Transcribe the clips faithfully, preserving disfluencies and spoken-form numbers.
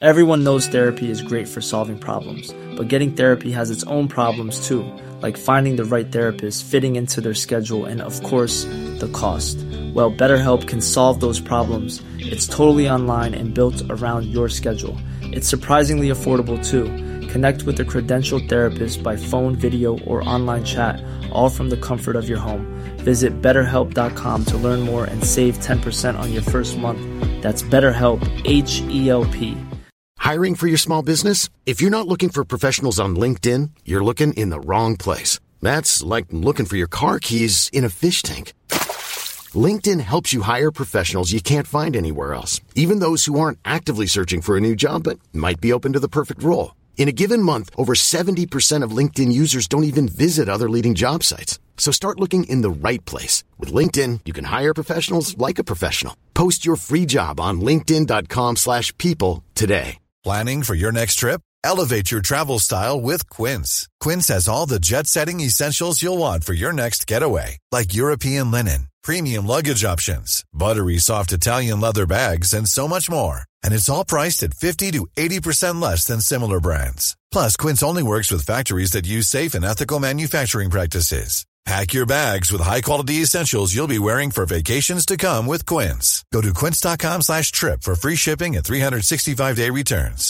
Everyone knows therapy is great for solving problems, but getting therapy has its own problems too, like finding the right therapist, fitting into their schedule, and of course, the cost. Well, BetterHelp can solve those problems. It's totally online and built around your schedule. It's surprisingly affordable too. Connect with a credentialed therapist by phone, video, or online chat, all from the comfort of your home. Visit better help dot com to learn more and save ten percent on your first month. That's BetterHelp, H E L P. Hiring for your small business? If you're not looking for professionals on LinkedIn, you're looking in the wrong place. That's like looking for your car keys in a fish tank. LinkedIn helps you hire professionals you can't find anywhere else, even those who aren't actively searching for a new job but might be open to the perfect role. In a given month, over seventy percent of LinkedIn users don't even visit other leading job sites. So start looking in the right place. With LinkedIn, you can hire professionals like a professional. Post your free job on linkedin dot com slash people today. Planning for your next trip? Elevate your travel style with Quince. Quince has all the jet-setting essentials you'll want for your next getaway, like European linen, premium luggage options, buttery soft Italian leather bags, and so much more. And it's all priced at fifty to eighty percent less than similar brands. Plus, Quince only works with factories that use safe and ethical manufacturing practices. Pack your bags with high-quality essentials you'll be wearing for vacations to come with Quince. Go to quince dot com slash trip for free shipping and three sixty-five day returns.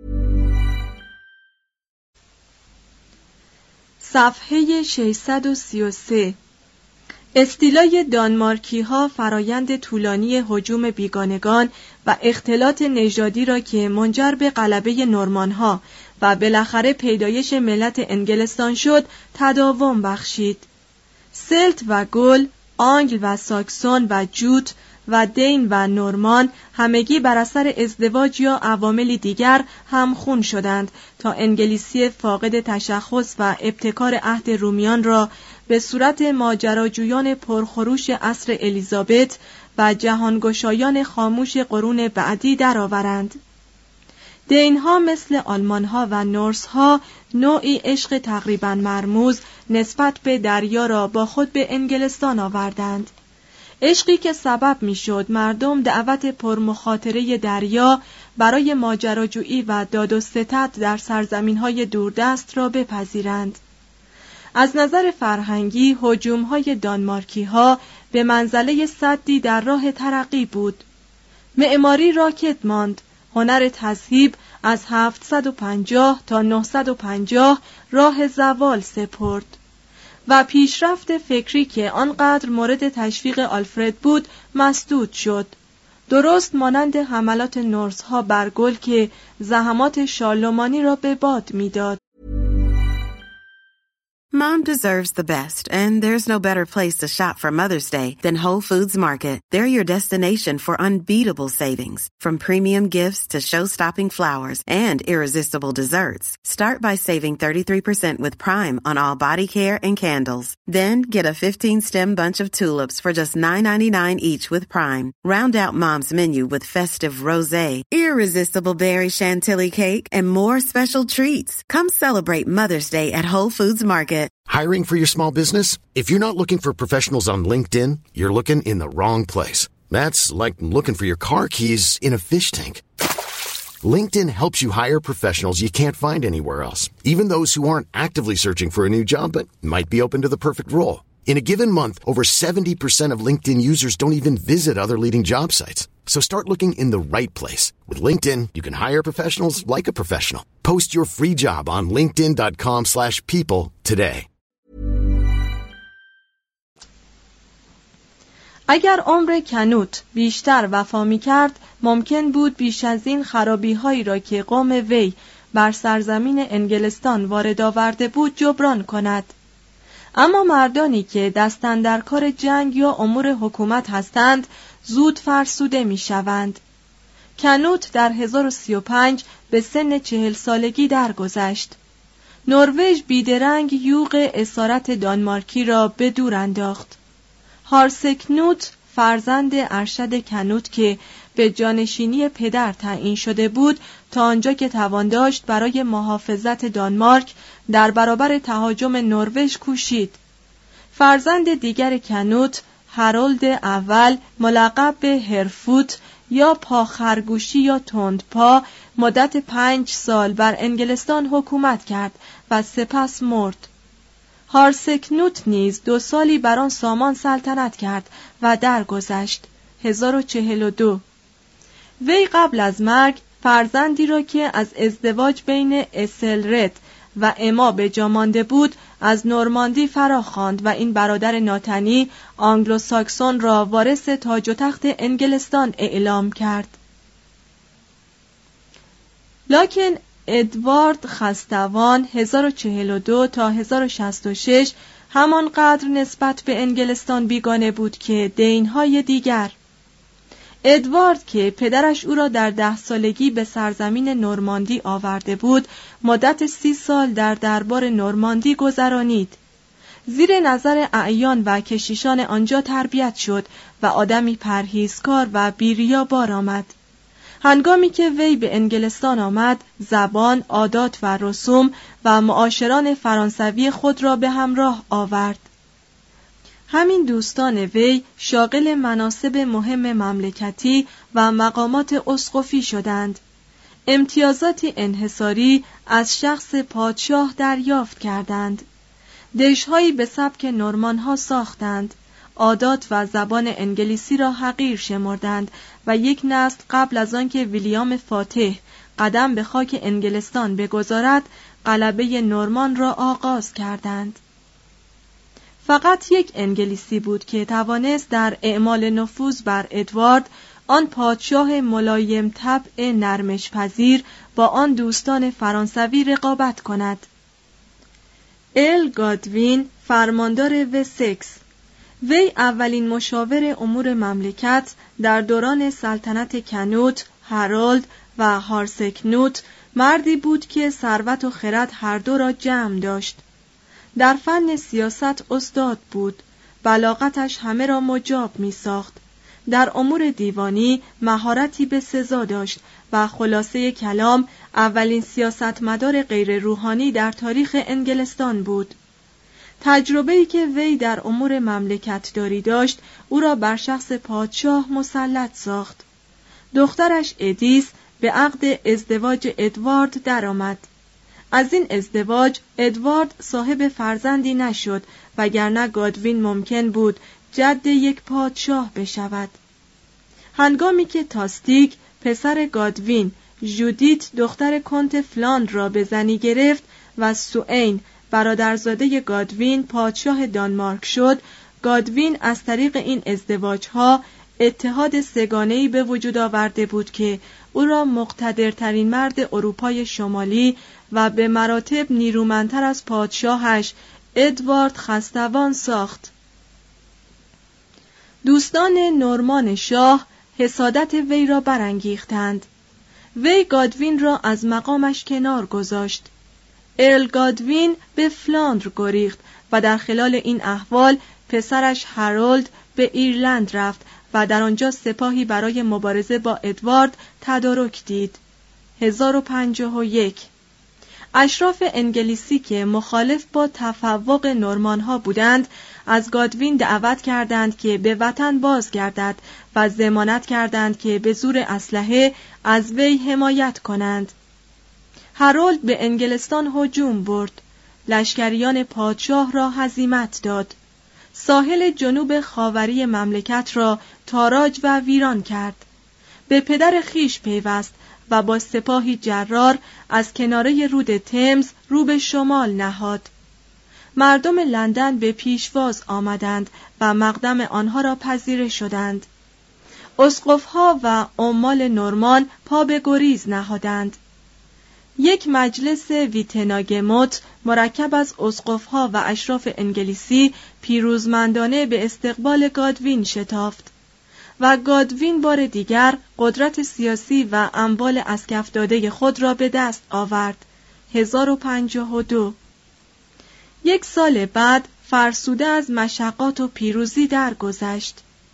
صفحه ششصد و سی و سه. استیلای دانمارکی ها فرایند طولانی هجوم بیگانگان و اختلاط نژادی را که منجر به غلبه نورمان ها و بالاخره پیدایش ملت انگلستان شد تداوم بخشید. سلت و گل، آنگل و ساکسون و جوت و دین و نورمان همگی بر اثر ازدواج یا عواملی دیگر همخون شدند تا انگلیسی فاقد تشخص و ابتکار عهد رومیان را به صورت ماجراجویان پرخروش عصر الیزابت و جهانگشایان خاموش قرون بعدی درآورند. دینها مثل آلمانها و نورسها نوعی عشق تقریباً مرموز نسبت به دریا را با خود به انگلستان آوردند. عشقی که سبب میشد مردم دعوت پرمخاطره دریا برای ماجراجویی و داد و ستد در سرزمین‌های دوردست را بپذیرند. از نظر فرهنگی هجوم‌های دانمارکی‌ها به منزله سدی در راه ترقی بود. معماری راکد ماند، هنر تذهیب از هفتصد و پنجاه تا نهصد و پنجاه راه زوال سپرد و پیشرفت فکری که آنقدر مورد تشویق آلفرد بود مسدود شد. درست مانند حملات نورس‌ها بر گل که زحمات شارلمانی را به باد می‌داد. Mom deserves the best, and there's no better place to shop for Mother's Day than Whole Foods Market. They're your destination for unbeatable savings, from premium gifts to show-stopping flowers and irresistible desserts. Start by saving thirty-three percent with Prime on all body care and candles. Then get a fifteen-stem bunch of tulips for just nine ninety-nine each with Prime. Round out Mom's menu with festive rosé, irresistible berry chantilly cake, and more special treats. Come celebrate Mother's Day at Whole Foods Market. Hiring for your small business? If you're not looking for professionals on LinkedIn, you're looking in the wrong place. That's like looking for your car keys in a fish tank. LinkedIn helps you hire professionals you can't find anywhere else, even those who aren't actively searching for a new job but might be open to the perfect role. In a given month, over seventy percent of LinkedIn users don't even visit other leading job sites. So start looking in the right place. With LinkedIn, you can hire professionals like a professional. Post your free job on linkedin dot com slash people today. اگر عمر کنوت بیشتر وفا می‌کرد، ممکن بود بیش از این خرابی‌هایی را که قوم وی بر سرزمین انگلستان وارد آورده بود جبران کند. اما مردانی که دستن در کار جنگ یا امور حکومت هستند زود فرسوده می‌شوند. کنوت در هزار و سی و پنج به سن چهل سالگی درگذشت. نروژ بیدرنگ یوغ اسارت دانمارکی را به دور انداخت. هارسکنوت فرزند ارشد کنوت که به جانشینی پدر تعیین شده بود تا آنجا که توان داشت برای محافظت دانمارک در برابر تهاجم نروژ کوشید. فرزند دیگر کنوت هارولد اول ملقب به هرفوت یا پاخرگوشی یا تندپا مدت پنج سال بر انگلستان حکومت کرد و سپس مرد. هارسکنوت نیز دو سالی بر آن سامان سلطنت کرد و درگذشت. هزار و چهل و دو. وی قبل از مرگ فرزندی را که از ازدواج بین اسلرد و اما به جا مانده بود از نورماندی فراخواند و این برادر ناتنی آنگلو ساکسون را وارث تاج و تخت انگلستان اعلام کرد. لکن ادوارد خستوان هزار و چهل و دو تا هزار و شصت و شش همانقدر نسبت به انگلستان بیگانه بود که دینهای دیگر. ادوارد که پدرش او را در ده سالگی به سرزمین نورماندی آورده بود، مدت سی سال در دربار نورماندی گذرانید. زیر نظر اعیان و کشیشان آنجا تربیت شد و آدمی پرهیزکار و بی‌ریا بار آمد. هنگامی که وی به انگلستان آمد، زبان، عادات و رسوم و معاشران فرانسوی خود را به همراه آورد. همین دوستان وی شاغل مناصب مهم مملکتی و مقامات اسقفی شدند. امتیازاتی انحصاری از شخص پادشاه دریافت کردند. دژهایی به سبک نورمان‌ها ساختند. عادات و زبان انگلیسی را حقیر شمردند و یک نسل قبل از آنکه ویلیام فاتح قدم به خاک انگلستان بگذارد، غلبه نورمان را آغاز کردند. فقط یک انگلیسی بود که توانست در اعمال نفوذ بر ادوارد، آن پادشاه ملایم طبع نرمش پذیر، با آن دوستان فرانسوی رقابت کند. ال گادوین، فرماندار وسکس. وی اولین مشاور امور مملکت در دوران سلطنت کنوت، هارولد و هارسکنوت مردی بود که ثروت و خرد هر دو را جمع داشت. در فن سیاست استاد بود. بلاغتش همه را مجاب می ساخت. در امور دیوانی مهارتی به سزا داشت و خلاصه کلام اولین سیاستمدار غیر روحانی در تاریخ انگلستان بود. تجربه‌ای که وی در امور مملکت داری داشت او را بر شخص پادشاه مسلط ساخت. دخترش ادیس به عقد ازدواج ادوارد درآمد. از این ازدواج ادوارد صاحب فرزندی نشد، وگرنه گادوین ممکن بود جد یک پادشاه بشود. هنگامی که تاستیک پسر گادوین جودیت دختر کنت فلاند را به زنی گرفت و سوئین برادرزاده گادوین پادشاه دانمارک شد، گادوین از طریق این ازدواجها اتحاد سگانه‌ای به وجود آورده بود که او را مقتدرترین مرد اروپای شمالی و به مراتب نیرومندتر از پادشاهش ادوارد خستوان ساخت. دوستان نورمان شاه حسادت وی را برانگیختند. وی گادوین را از مقامش کنار گذاشت. ارل گادوین به فلاندر گریخت و در خلال این احوال پسرش هارولد به ایرلند رفت و در آنجا سپاهی برای مبارزه با ادوارد تدارک دید. هزار و پنجاه و یک. اشراف انگلیسی که مخالف با تفوق نورمان‌ها بودند، از گادوین دعوت کردند که به وطن بازگردد و ضمانت کردند که به زور اسلحه از وی حمایت کنند. هارولد به انگلستان هجوم برد. لشکریان پادشاه را هزیمت داد. ساحل جنوب خاوری مملکت را تاراج و ویران کرد. به پدر خیش پیوست و با سپاهی جرار از کناره رود تمز رو به شمال نهاد. مردم لندن به پیشواز آمدند و مقدم آنها را پذیره شدند. اسقف‌ها و عمال نورمان پا به گریز نهادند. یک مجلس ویتناگموت مرکب از اسقف‌ها و اشراف انگلیسی پیروزمندانه به استقبال گادوین شتافت و گادوین بار دیگر قدرت سیاسی و اموال اسکف داده خود را به دست آورد. هزار و پنجاه و دو. یک سال بعد فرسوده از مشقات و پیروزی درگذشت.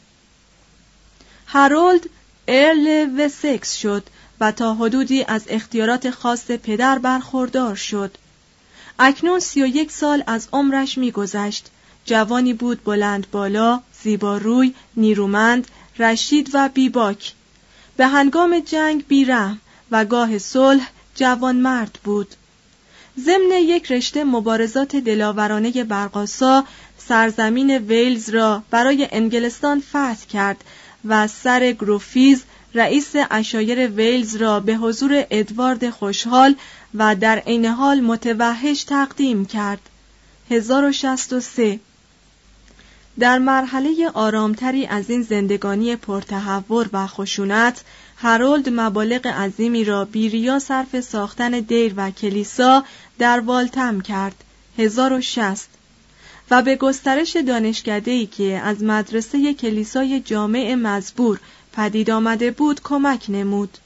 هارولد ارل وسکس شد و تا حدودی از اختیارات خاص پدر برخوردار شد. اکنون سی و یک سال از عمرش می‌گذشت. جوانی بود بلند بالا، زیباروی، نیرومند، رشید و بیباک. به هنگام جنگ بیرحم و گاه صلح جوانمرد بود. ضمن یک رشته مبارزات دلاورانه برقاسا سرزمین ویلز را برای انگلستان فتح کرد و سر گروفیز رئیس عشایر ویلز را به حضور ادوارد خوشحال و در عین حال متوحش تقدیم کرد. هزار و شصت و سه. در مرحله آرامتری از این زندگانی پرتحور و خشونت، هارولد مبالغ عظیمی را بی‌ریا صرف ساختن دیر و کلیسا در والتم کرد. هزار و شصت. و به گسترش دانشکده‌ای که از مدرسه کلیسای جامع مزبور پدید آمده بود کمک نمود.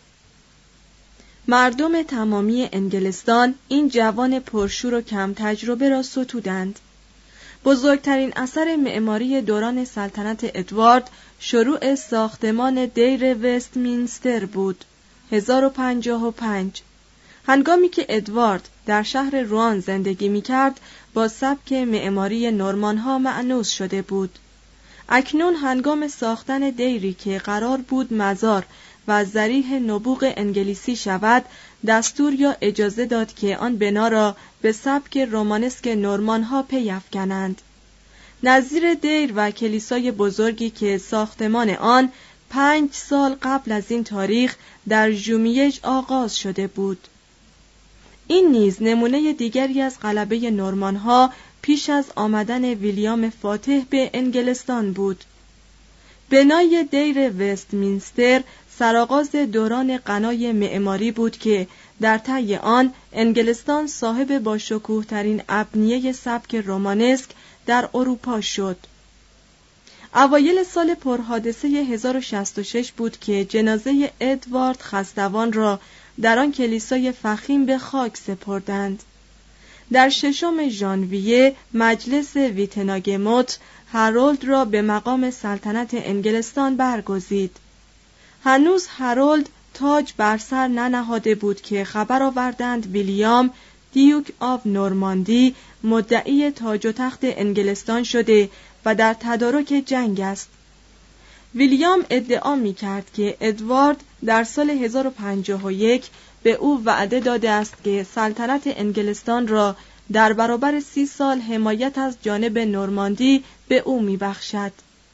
مردم تمامی انگلستان این جوان پرشور و کم تجربه را ستودند. بزرگترین اثر معماری دوران سلطنت ادوارد شروع ساختمان دیر وستمینستر بود. هزار و پنجاه و پنج. هنگامی که ادوارد در شهر روان زندگی می‌کرد، با سبک معماری نورمان‌ها مأنوس شده بود. اکنون هنگام ساختن دیری که قرار بود مزار و ذریح نبوغ انگلیسی شود، دستور یا اجازه داد که آن بنا را به سبک رومانسک نورمان‌ها پی افکنند. نظیر دیر و کلیسای بزرگی که ساختمان آن پنج سال قبل از این تاریخ در ژومیژ آغاز شده بود. این نیز نمونه دیگری از غلبه نورمان‌ها پیش از آمدن ویلیام فاتح به انگلستان بود. بنای دیر وستمینستر سرآغاز دوران غنای معماری بود که در طی آن انگلستان صاحب با شکوه ترین ابنیه سبک رومانسک در اروپا شد. اوایل سال پرحادثه هزار و شصت و شش بود که جنازه ادوارد خستوان را در آن کلیسای فخیم به خاک سپردند. در ششم ژانویه مجلس ویتناگموت هارولد را به مقام سلطنت انگلستان برگزید. هنوز هارولد تاج بر سر ننهاده بود که خبر آوردند ویلیام دیوک آف نورماندی مدعی تاج و تخت انگلستان شده و در تدارک جنگ است. ویلیام ادعا می کرد که ادوارد در سال هزار و پنجاه و یک به او وعده داده است که سلطنت انگلستان را در برابر سی سال حمایت از جانب نورماندی به او می بخشد.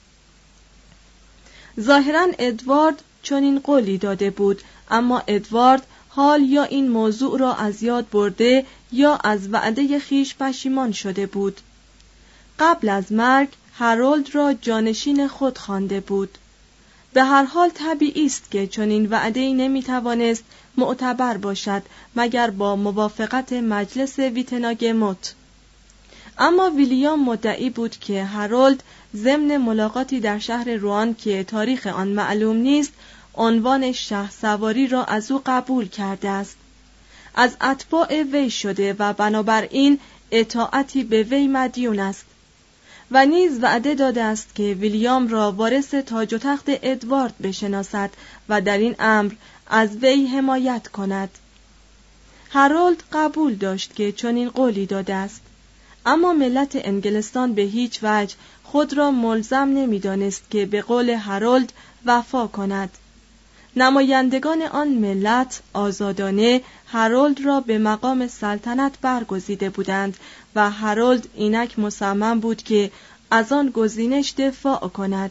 ظاهراً ادوارد چنین قولی داده بود، اما ادوارد حال یا این موضوع را از یاد برده یا از وعده خیش پشیمان شده بود. قبل از مرگ هارولد را جانشین خود خوانده بود. به هر حال طبیعی است که چنین وعده‌ای نمی‌توانست معتبر باشد مگر با موافقت مجلس ویتناگموت. اما ویلیام مدعی بود که هارولد ضمن ملاقاتی در شهر روان که تاریخ آن معلوم نیست، عنوان شهسواری را از او قبول کرده است. از اتباع وی شده و بنابراین اطاعتی به وی مدیون است. و نیز وعده داده است که ویلیام را وارث تاج و تخت ادوارد بشناسد و در این امر از وی حمایت کند. هارولد قبول داشت که چنین قولی داده است، اما ملت انگلستان به هیچ وجه خود را ملزم نمی‌دانست که به قول هارولد وفا کند. نمایندگان آن ملت آزادانه هارولد را به مقام سلطنت برگزیده بودند و هارولد اینک مصمم بود که از آن گزینش دفاع کند.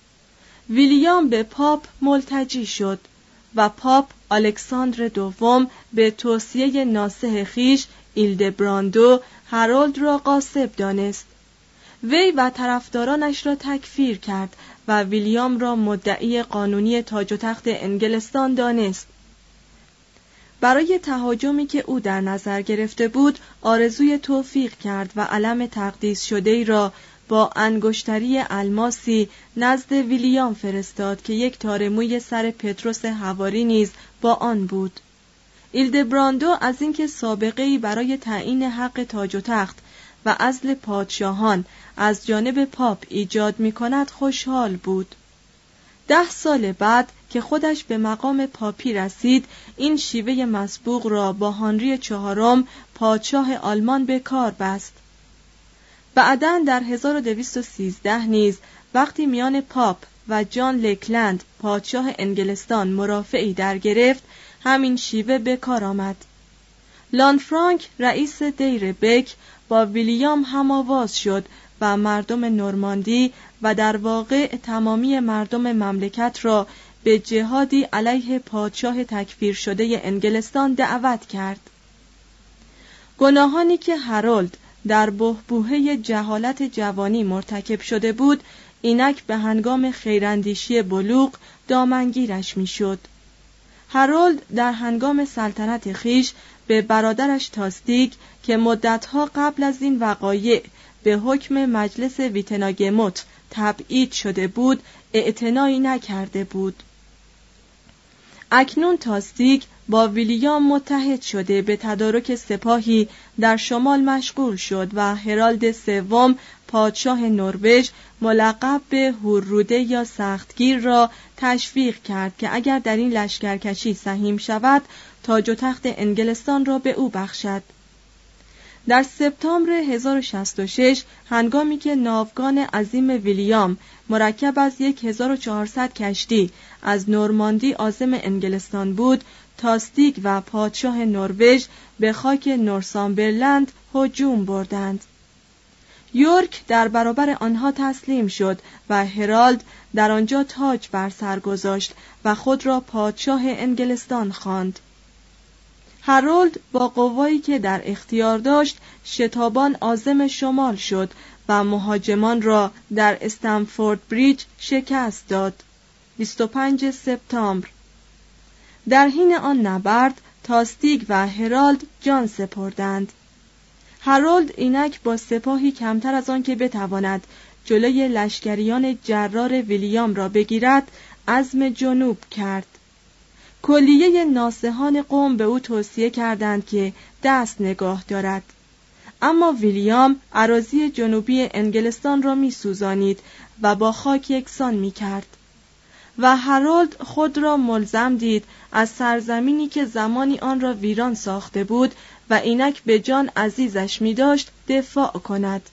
ویلیام به پاپ ملتجی شد و پاپ الکساندر دوم به توصیه ناصح خیش ایلدبراندو هارولد را غاصب دانست. وی و طرفدارانش را تکفیر کرد و ویلیام را مدعی قانونی تاج و تخت انگلستان دانست. برای تهاجمی که او در نظر گرفته بود آرزوی توفیق کرد و علم تقدیس شده‌ای را با انگشتری الماسی نزد ویلیام فرستاد که یک تار موی سر پتروس حواری نیز با آن بود. ایلدبراندو از اینکه سابقه‌ای برای تعیین حق تاج و تخت و عزل پادشاهان از جانب پاپ ایجاد می کند خوشحال بود. ده سال بعد که خودش به مقام پاپی رسید، این شیوه مسبوق را با هنری چهارم پادشاه آلمان به کار بست. بعداً در هزار و دویست و سیزده نیز وقتی میان پاپ و جان لکلند پادشاه انگلستان مرافعی در گرفت، همین شیوه به کار آمد. لانفرانک رئیس دیر بک با ویلیام هم‌آواز شد و مردم نورماندی و در واقع تمامی مردم مملکت را به جهادی علیه پادشاه تکفیر شده انگلستان دعوت کرد. گناهانی که هارولد در بحبوحه جهالت جوانی مرتکب شده بود، اینک به هنگام خیراندیشی بلوغ دامنگیرش میشد. هارولد در هنگام سلطنت خیش به برادرش تاستیک که مدتها قبل از این وقایع به حکم مجلس ویتناگموت تبعید شده بود اعتنایی نکرده بود. اکنون تاستیک با ویلیام متحد شده به تدارک سپاهی در شمال مشغول شد و هرالد سوم پادشاه نروژ ملقب به هورروده یا سختگیر را تشویق کرد که اگر در این لشکرکشی سهیم شود تاج و تخت انگلستان را به او بخشد. در سپتامبر هزار و شصت و شش هنگامی که ناوگان عظیم ویلیام مرکب از هزار و چهارصد کشتی از نورماندی عازم انگلستان بود، تاستیک و پادشاه نروژ به خاک نورسامبرلند هجوم بردند. یورک در برابر آنها تسلیم شد و هرالد در آنجا تاج بر سر گذاشت و خود را پادشاه انگلستان خواند. هارولد با قوایی که در اختیار داشت شتابان عازم شمال شد و مهاجمان را در استنفورد بریج شکست داد. بیست و پنجم سپتامبر. در حین آن نبرد تاستیک و هرالد جان سپردند. هارولد اینک با سپاهی کمتر از آن که بتواند جلوی لشکریان جرار ویلیام را بگیرد عزم جنوب کرد. کلیه ناصحان قوم به او توصیه کردند که دست نگاه دارد، اما ویلیام اراضی جنوبی انگلستان را می سوزانید و با خاک یکسان می کرد و هارولد خود را ملزم دید از سرزمینی که زمانی آن را ویران ساخته بود و اینک به جان عزیزش می داشت دفاع کند.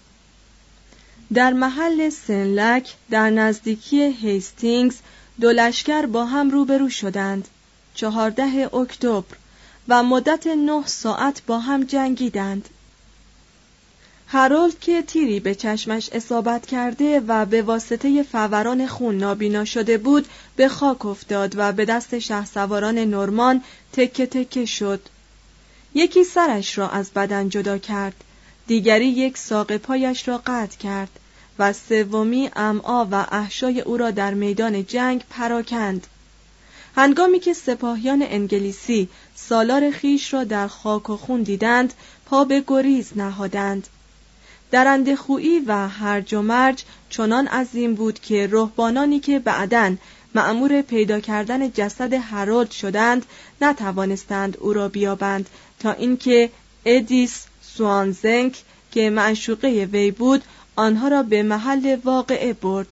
در محل سنلک در نزدیکی هیستینگز دو لشکر با هم روبرو شدند. چهاردهم اکتبر و مدت نه ساعت با هم جنگیدند. هارولد که تیری به چشمش اصابت کرده و به واسطه فوران خون نابینا شده بود به خاک افتاد و به دست شهسواران نورمان تکه تکه شد. یکی سرش را از بدن جدا کرد، دیگری یک ساق پایش را قطع کرد و سومی امعا و احشای او را در میدان جنگ پراکند. هنگامی که سپاهیان انگلیسی سالار خیش را در خاک و خون دیدند پا به گریز نهادند. درنده‌خویی و هرج و مرج چنان عظیم بود که رهبانانی که بعداً مأمور پیدا کردن جسد هارولد شدند نتوانستند او را بیابند تا اینکه ادیس سوانزنک که معشوقه وی بود آنها را به محل واقعه برد.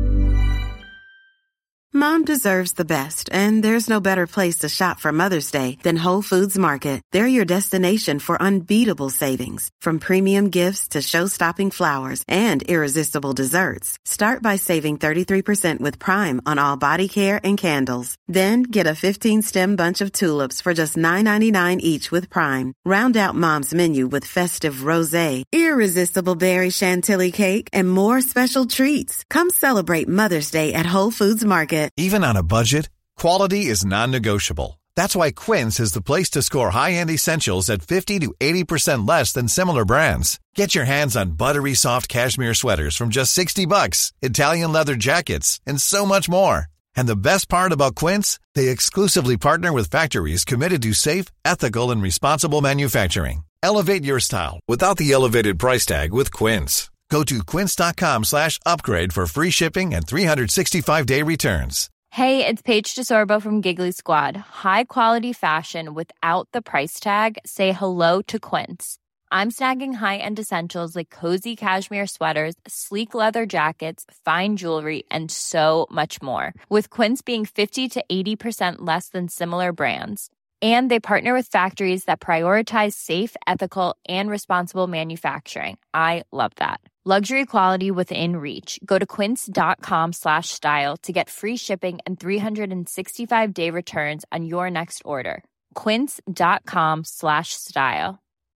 Mom deserves the best, and there's no better place to shop for Mother's Day than Whole Foods Market. They're your destination for unbeatable savings, from premium gifts to show-stopping flowers and irresistible desserts. Start by saving thirty-three percent with Prime on all body care and candles. Then get a fifteen-stem bunch of tulips for just nine ninety-nine each with Prime. Round out Mom's menu with festive rosé, irresistible berry chantilly cake, and more special treats. Come celebrate Mother's Day at Whole Foods Market. Even on a budget, quality is non-negotiable. That's why Quince is the place to score high-end essentials at fifty to eighty percent less than similar brands. Get your hands on buttery soft cashmere sweaters from just sixty bucks, Italian leather jackets, and so much more. And the best part about Quince, they exclusively partner with factories committed to safe, ethical, and responsible manufacturing. Elevate your style without the elevated price tag with Quince. Go to quince.com slash upgrade for free shipping and three sixty-five day returns. Hey, it's Paige DeSorbo from Giggly Squad. High quality fashion without the price tag. Say hello to Quince. I'm snagging high-end essentials like cozy cashmere sweaters, sleek leather jackets, fine jewelry, and so much more. With Quince being fifty to eighty percent less than similar brands. And they partner with factories that prioritize safe, ethical, and responsible manufacturing. I love that. Luxury quality within reach. Go to quince.com slash style to get free shipping and three sixty-five day returns on your next order. quince.com slash style.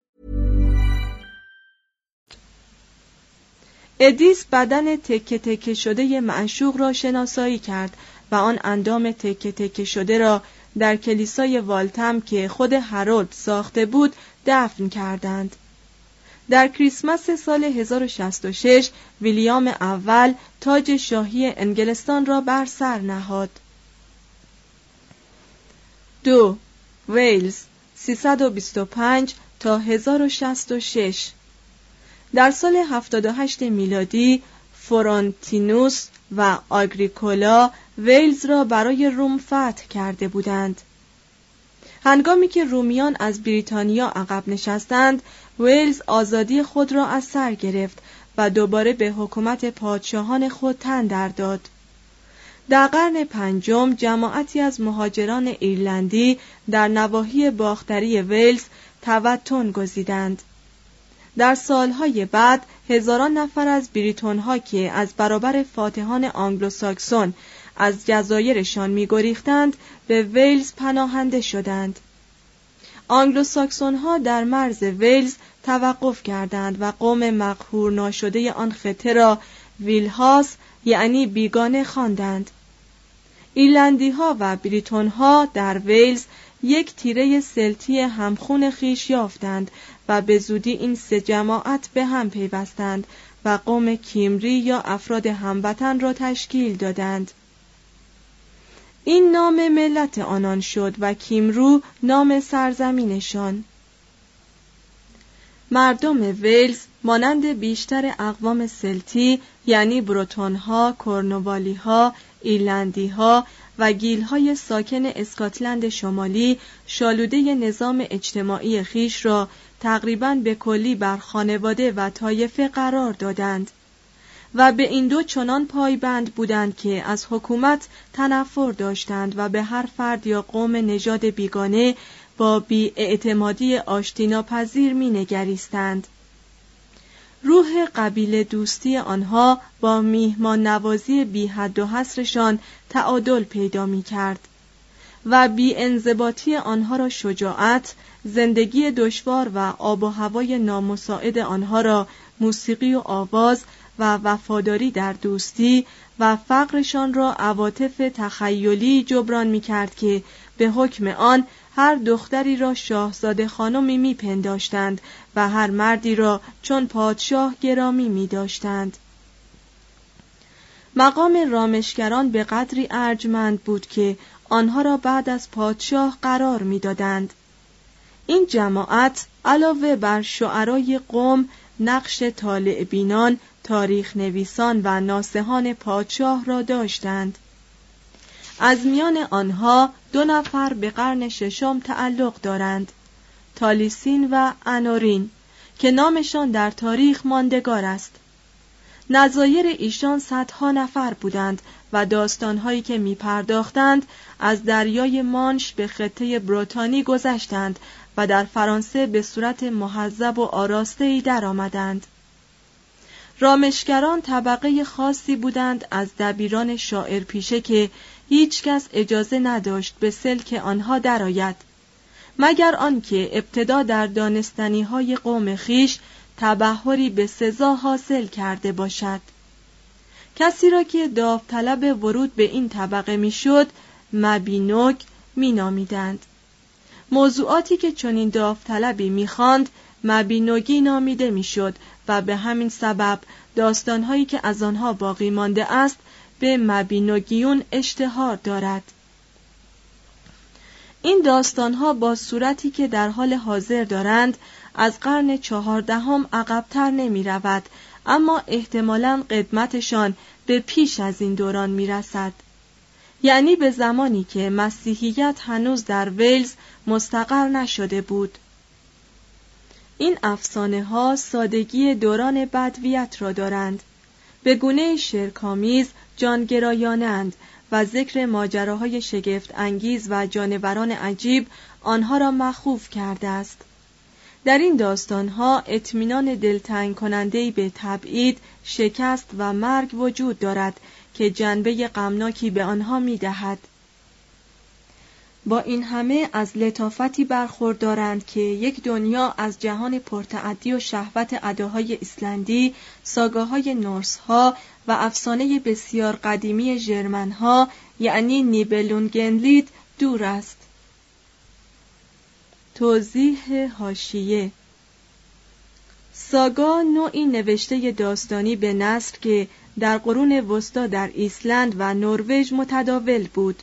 ادیس بدن تکه تکه شده معشوق را شناسایی کرد و آن اندام تکه تکه شده را در کلیسای والتم که خود هارولد ساخته بود دفن کردند. در کریسمس سال هزار و شصت و شش ویلیام اول تاج شاهی انگلستان را بر سر نهاد. دو ویلز سیصد و بیست و پنج تا هزار و شصت و شش. در سال هفتاد و هشت میلادی فرونتینوس و آگریکولا ویلز را برای روم فتح کرده بودند. هنگامی که رومیان از بریتانیا عقب نشستند، ویلز آزادی خود را از سر گرفت و دوباره به حکومت پادشاهان خود تن در داد. در قرن پنجم جماعتی از مهاجران ایرلندی در نواحی باختری ویلز توطن گزیدند. در سالهای بعد هزاران نفر از بریتون‌ها که از برابر فاتحان آنگلوساکسون از جزایرشان می‌گریختند به ویلز پناهنده شدند. آنگلوساکسون‌ها در مرز ویلز توقف کردند و قوم مقهور ناشده آن خطه را ویلهاس یعنی بیگانه خواندند. ایرلندی‌ها و بریتون‌ها در ویلز یک تیره سلتی همخون خیش یافتند و به زودی این سه جماعت به هم پیوستند و قوم کیمری یا افراد هموطن را تشکیل دادند. این نام ملت آنان شد و کیمرو نام سرزمینشان. مردم ویلز مانند بیشتر اقوام سلتی یعنی بروتون‌ها، کورنوالی‌ها، ایرلندی‌ها و گیل‌های ساکن اسکاتلند شمالی شالوده نظام اجتماعی خیش را تقریباً به کلی بر خانواده و طایفه قرار دادند و به این دو چنان پایبند بودند که از حکومت تنفر داشتند و به هر فرد یا قوم نژاد بیگانه با بی‌اعتمادی آشتیناپذیر می‌نگریستند. روح قبیله دوستی آنها با میهمان نوازی بی حد و حصرشان تعادل پیدا می کرد و بی انضباطی آنها را شجاعت، زندگی دشوار و آب و هوای نامساعد آنها را موسیقی و آواز و وفاداری در دوستی و فقرشان را عواطف تخیلی جبران می کرد که به حکم آن هر دختری را شاهزاده خانمی می پنداشتند و هر مردی را چون پادشاه گرامی می داشتند. مقام رامشگران به قدری ارجمند بود که آنها را بعد از پادشاه قرار می دادند. این جماعت علاوه بر شعرای قوم نقش طالع بینان، تاریخ نویسان و ناصحان پادشاه را داشتند. از میان آنها دو نفر به قرن ششم تعلق دارند، تالیسین و انورین که نامشان در تاریخ ماندگار است. نظایر ایشان صدها نفر بودند و داستانهایی که می پرداختند از دریای مانش به خطه بروتانی گذشتند و در فرانسه به صورت مهذب و آراسته‌ای در آمدند. رامشگران طبقه خاصی بودند از دبیران شاعر پیشه که هیچ کس اجازه نداشت به سلک آنها درآید، مگر آنکه ابتدا در دانستنی‌های قوم خیش تبحری به سزا حاصل کرده باشد. کسی را که داوطلب ورود به این طبقه میشد مبینوک مینامیدند. موضوعاتی که چنین داوطلبی میخواند مبینوگی نامیده میشد و به همین سبب داستانهایی که از آنها باقی مانده است به مبینوگیون اشتهار دارد. این داستانها با صورتی که در حال حاضر دارند از قرن چهاردهم عقب‌تر نمی رود، اما احتمالاً قدمتشان به پیش از این دوران می رسد. یعنی به زمانی که مسیحیت هنوز در ویلز مستقر نشده بود. این افسانه ها سادگی دوران بدویت را دارند، به گونه شرک‌آمیز جانگرایانند و ذکر ماجراهای شگفت انگیز و جانوران عجیب آنها را مخوف کرده است. در این داستانها اطمینان دلتنگ کننده‌ای به تبعید، شکست و مرگ وجود دارد که جنبه غمناکی به آنها می‌دهد. با این همه از لطافتی برخوردارند که یک دنیا از جهان پرتعدی و شهوت اداهای ایسلندی، ساگاهای نورس‌ها و افسانه بسیار قدیمی ژرمن‌ها یعنی نیبلونگنلید دور است. توضیح حاشیه: ساگا نوعی نوشته داستانی به نثر که در قرون وسطی در ایسلند و نروژ متداول بود.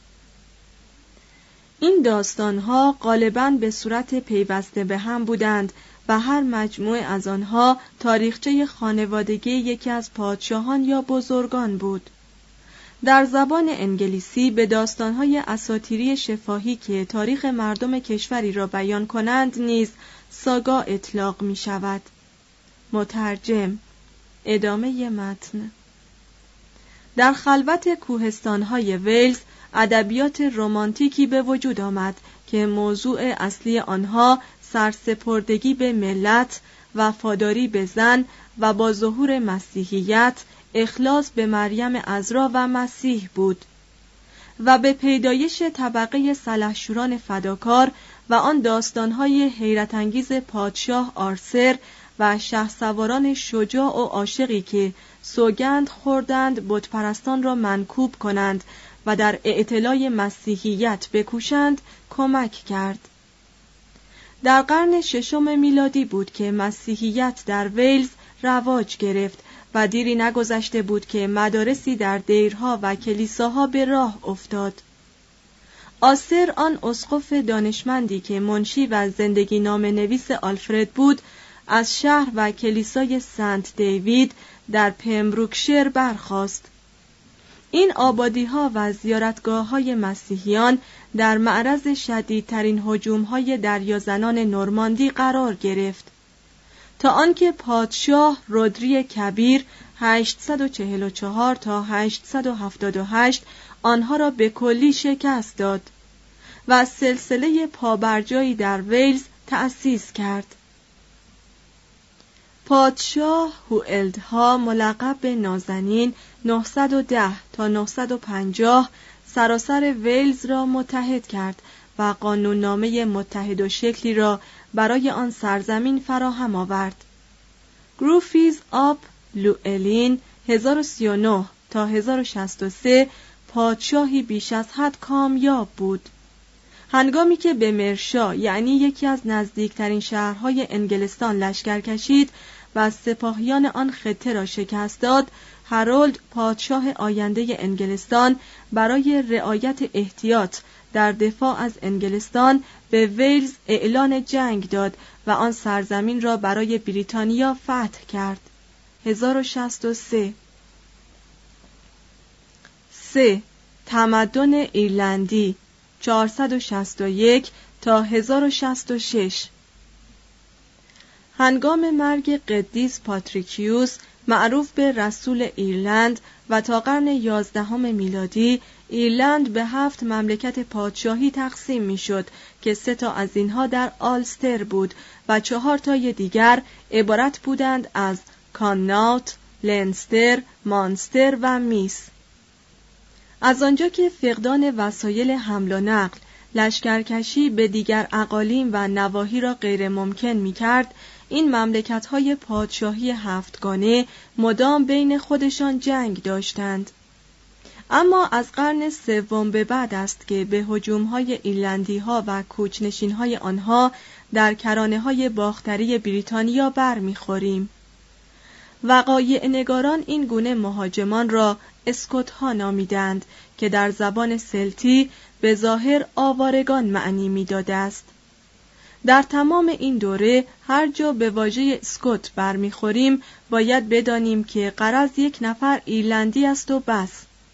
این داستانها غالباً به صورت پیوسته به هم بودند و هر مجموعه از آنها تاریخچه خانوادگی یکی از پادشاهان یا بزرگان بود. در زبان انگلیسی به داستانهای اساطیری شفاهی که تاریخ مردم کشوری را بیان کنند نیز ساگا اطلاق می شود. مترجم. ادامه متن. در خلوت کوهستانهای ویلز ادبیات رمانتیکی به وجود آمد که موضوع اصلی آنها سرسپردگی به ملت، وفاداری به زن و با ظهور مسیحیت اخلاص به مریم عذرا و مسیح بود و به پیدایش طبقه سلحشوران فداکار و آن داستانهای حیرت انگیز پادشاه آرثر و شهسواران شجاع و عاشقی که سوگند خوردند بتپرستان را منکوب کنند و در اعتلای مسیحیت بکوشند کمک کرد. در قرن ششم میلادی بود که مسیحیت در ویلز رواج گرفت و دیری نگذشته بود که مدارسی در دیرها و کلیساها به راه افتاد. آسر، آن اسقف دانشمندی که منشی و زندگی نامه نویس آلفرد بود، از شهر و کلیسای سنت دیوید در پمبروکشیر برخاست. این آبادی‌ها و زیارتگاه‌های مسیحیان در معرض شدیدترین هجوم‌های دریازنان نورماندی قرار گرفت تا آنکه پادشاه رودری کبیر هشتصد و چهل و چهار تا هشتصد و هفتاد و هشت آنها را به کلی شکست داد و سلسله پابرجایی در ویلز تأسیس کرد. پادشاه هوئلدها ملقب به نازنین نهصد و ده تا نهصد و پنجاه سراسر ویلز را متحد کرد و قانوننامه متحد و شکلی را برای آن سرزمین فراهم آورد. گروفیز آب لوئلین هزار و سی و نه تا هزار و شصت و سه پادشاهی بیش از حد کامیاب بود. هنگامی که به مرشا یعنی یکی از نزدیکترین شهرهای انگلستان لشکر کشید و سپاهیان آن خطه را شکست داد، هارولد پادشاه آینده انگلستان برای رعایت احتیاط در دفاع از انگلستان به ویلز اعلان جنگ داد و آن سرزمین را برای بریتانیا فتح کرد. هزار و شصت و سه. سه. تمدن ایرلندی چهارصد و شصت و یک تا هزار و شصت و شش. هنگام مرگ قدیس پاتریکیوس معروف به رسول ایرلند و تا قرن یازدهم میلادی ایرلند به هفت مملکت پادشاهی تقسیم میشد که سه تا از اینها در آلستر بود و چهار تای دیگر عبارت بودند از کاناوت، لنستر، مانستر و میس. از آنجا که فقدان وسایل حمل و نقل لشکرکشی به دیگر اقالیم و نواحی را غیر ممکن می کرد، این مملکت‌های پادشاهی هفتگانه مدام بین خودشان جنگ داشتند. اما از قرن سوم به بعد است که به هجوم‌های ایرلندی‌ها و کوچ‌نشین‌های آنها در کرانه‌های باختری بریتانیا برمی‌خوریم. وقایع نگاران این گونه مهاجمان را اسکوت‌ها نامیدند که در زبان سلتی به ظاهر آوارگان معنی می‌داده است. در تمام این دوره هر جا به واژه اسکوت برمیخوریم باید بدانیم که غرض یک نفر ایرلندی است و بس.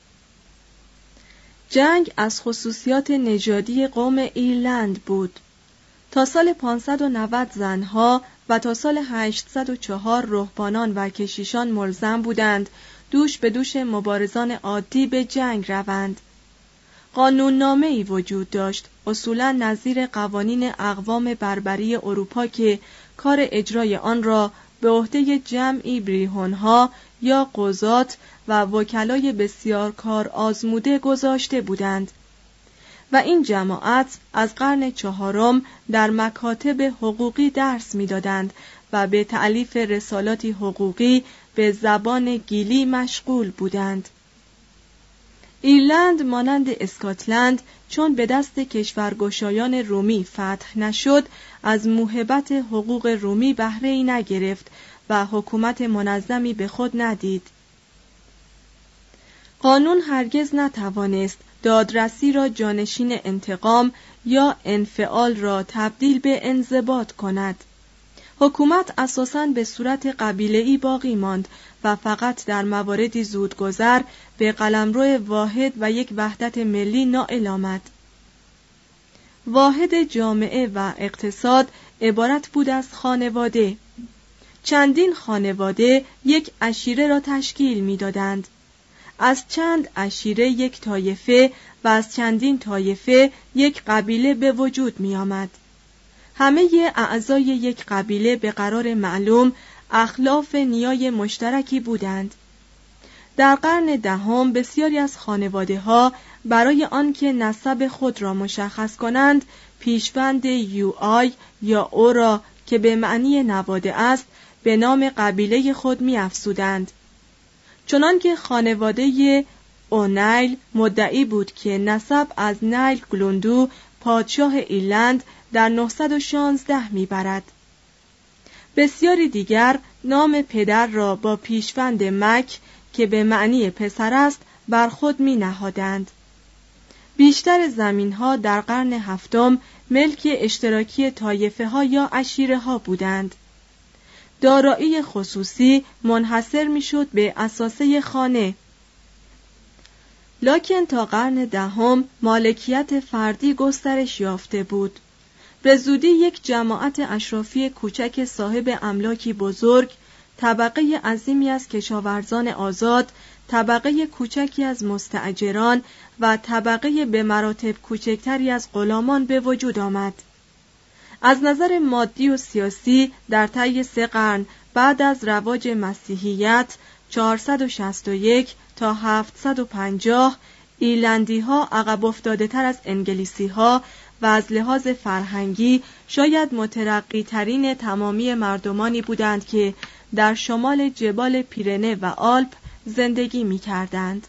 جنگ از خصوصیات نژادی قوم ایرلند بود. تا سال پانصد و نود زنها و تا سال هشتصد و چهار رهبانان و کشیشان ملزم بودند دوش به دوش مبارزان عادی به جنگ روند. قانوننامه‌ای وجود داشت، اصولاً نظیر قوانین اقوام بربری اروپا که کار اجرای آن را به عهده جمعی بریهونها یا قضات و وکلای بسیار کار آزموده گذاشته بودند و این جماعت از قرن چهارم در مکاتب حقوقی درس می‌دادند و به تألیف رسالاتی حقوقی به زبان گیلی مشغول بودند. ایرلند مانند اسکاتلند چون به دست کشورگشایان رومی فتح نشد، از موهبت حقوق رومی بهره‌ای نگرفت و حکومت منظمی به خود ندید. قانون هرگز نتوانست دادرسی را جانشین انتقام یا انفعال را تبدیل به انضباط کند. حکومت اساساً به صورت قبیله‌ای باقی ماند و فقط در مواردی زودگذر به قلمرو واحد و یک وحدت ملی نائل آمد. واحد جامعه و اقتصاد عبارت بود از خانواده. چندین خانواده یک عشیره را تشکیل می‌دادند. از چند عشیره یک طایفه و از چندین طایفه یک قبیله به وجود می آمد. همه اعضای یک قبیله به قرار معلوم اخلاف نیای مشترکی بودند. در قرن دهم بسیاری از خانواده ها برای آنکه نسب خود را مشخص کنند پیشوند یو آی یا او را که به معنی نواده است به نام قبیله خود می افزودند. چنانکه خانواده اونیل مدعی بود که نسب از نیل گلوندو پادشاه ایرلند در نهصد و شانزده میبرد. بسیاری دیگر نام پدر را با پیشوند مک که به معنی پسر است بر خود می نهادند. بیشتر زمین‌ها در قرن هفتم ملک اشتراکی طایفه ها یا عشیره ها بودند. دارایی خصوصی منحصر میشد به اساسه خانه. لکن تا قرن دهم مالکیت فردی گسترش یافته بود. به زودی یک جماعت اشرافی کوچک صاحب املاکی بزرگ، طبقه عظیمی از کشاورزان آزاد، طبقه کوچکی از مستاجران و طبقه به مراتب کوچکتری از غلامان به وجود آمد. از نظر مادی و سیاسی در طی سه قرن بعد از رواج مسیحیت چهارصد و شصت و یک تا هفتصد و پنجاه ایرلندی ها عقب افتاده تر از انگلیسی ها و از لحاظ فرهنگی شاید مترقی ترین تمامی مردمانی بودند که در شمال جبال پیرنه و آلپ زندگی می کردند.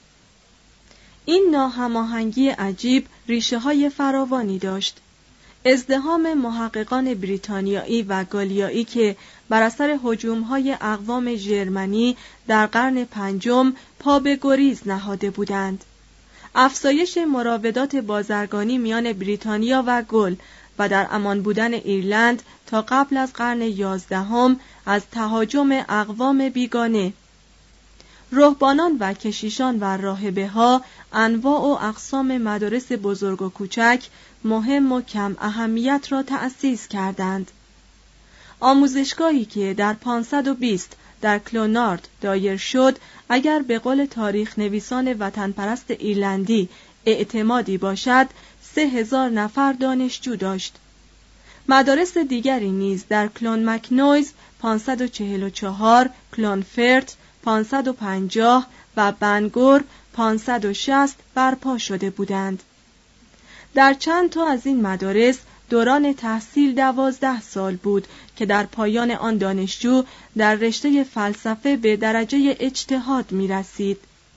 این ناهماهنگی عجیب ریشه های فراوانی داشت. ازدحام محققان بریتانیایی و گالیایی که بر اثر هجوم‌های اقوام ژرمنی در قرن پنجم پا به گریز نهاده بودند. افزایش مراودات بازرگانی میان بریتانیا و گل و در امان بودن ایرلند تا قبل از قرن یازدهم از تهاجم اقوام بیگانه. رهبانان و کشیشان و راهبه‌ها انواع و اقسام مدارس بزرگ و کوچک مهم و کم اهمیت را تأسیس کردند. آموزشگاهی که در پانصد و بیست در کلونارد دایر شد اگر به قول تاریخ نویسان وطن پرست ایرلندی اعتمادی باشد سه هزار نفر دانشجو داشت. مدارس دیگری نیز در کلون مکنویز پانصد و چهل و چهار، کلونفرت پانصد و پنجاه و بنگور پانصد و شصت برپا شده بودند. در چند تا از این مدارس دوران تحصیل دوازده سال بود که در پایان آن دانشجو در رشته فلسفه به درجه اجتهاد می رسید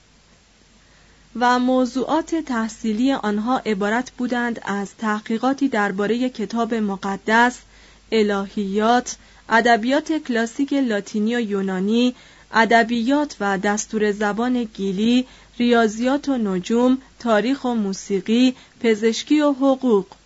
و موضوعات تحصیلی آنها عبارت بودند از تحقیقاتی درباره کتاب مقدس، الهیات، ادبیات کلاسیک لاتینی و یونانی، ادبیات و دستور زبان گیلی، ریاضیات و نجوم، تاریخ و موسیقی، پزشکی و حقوق.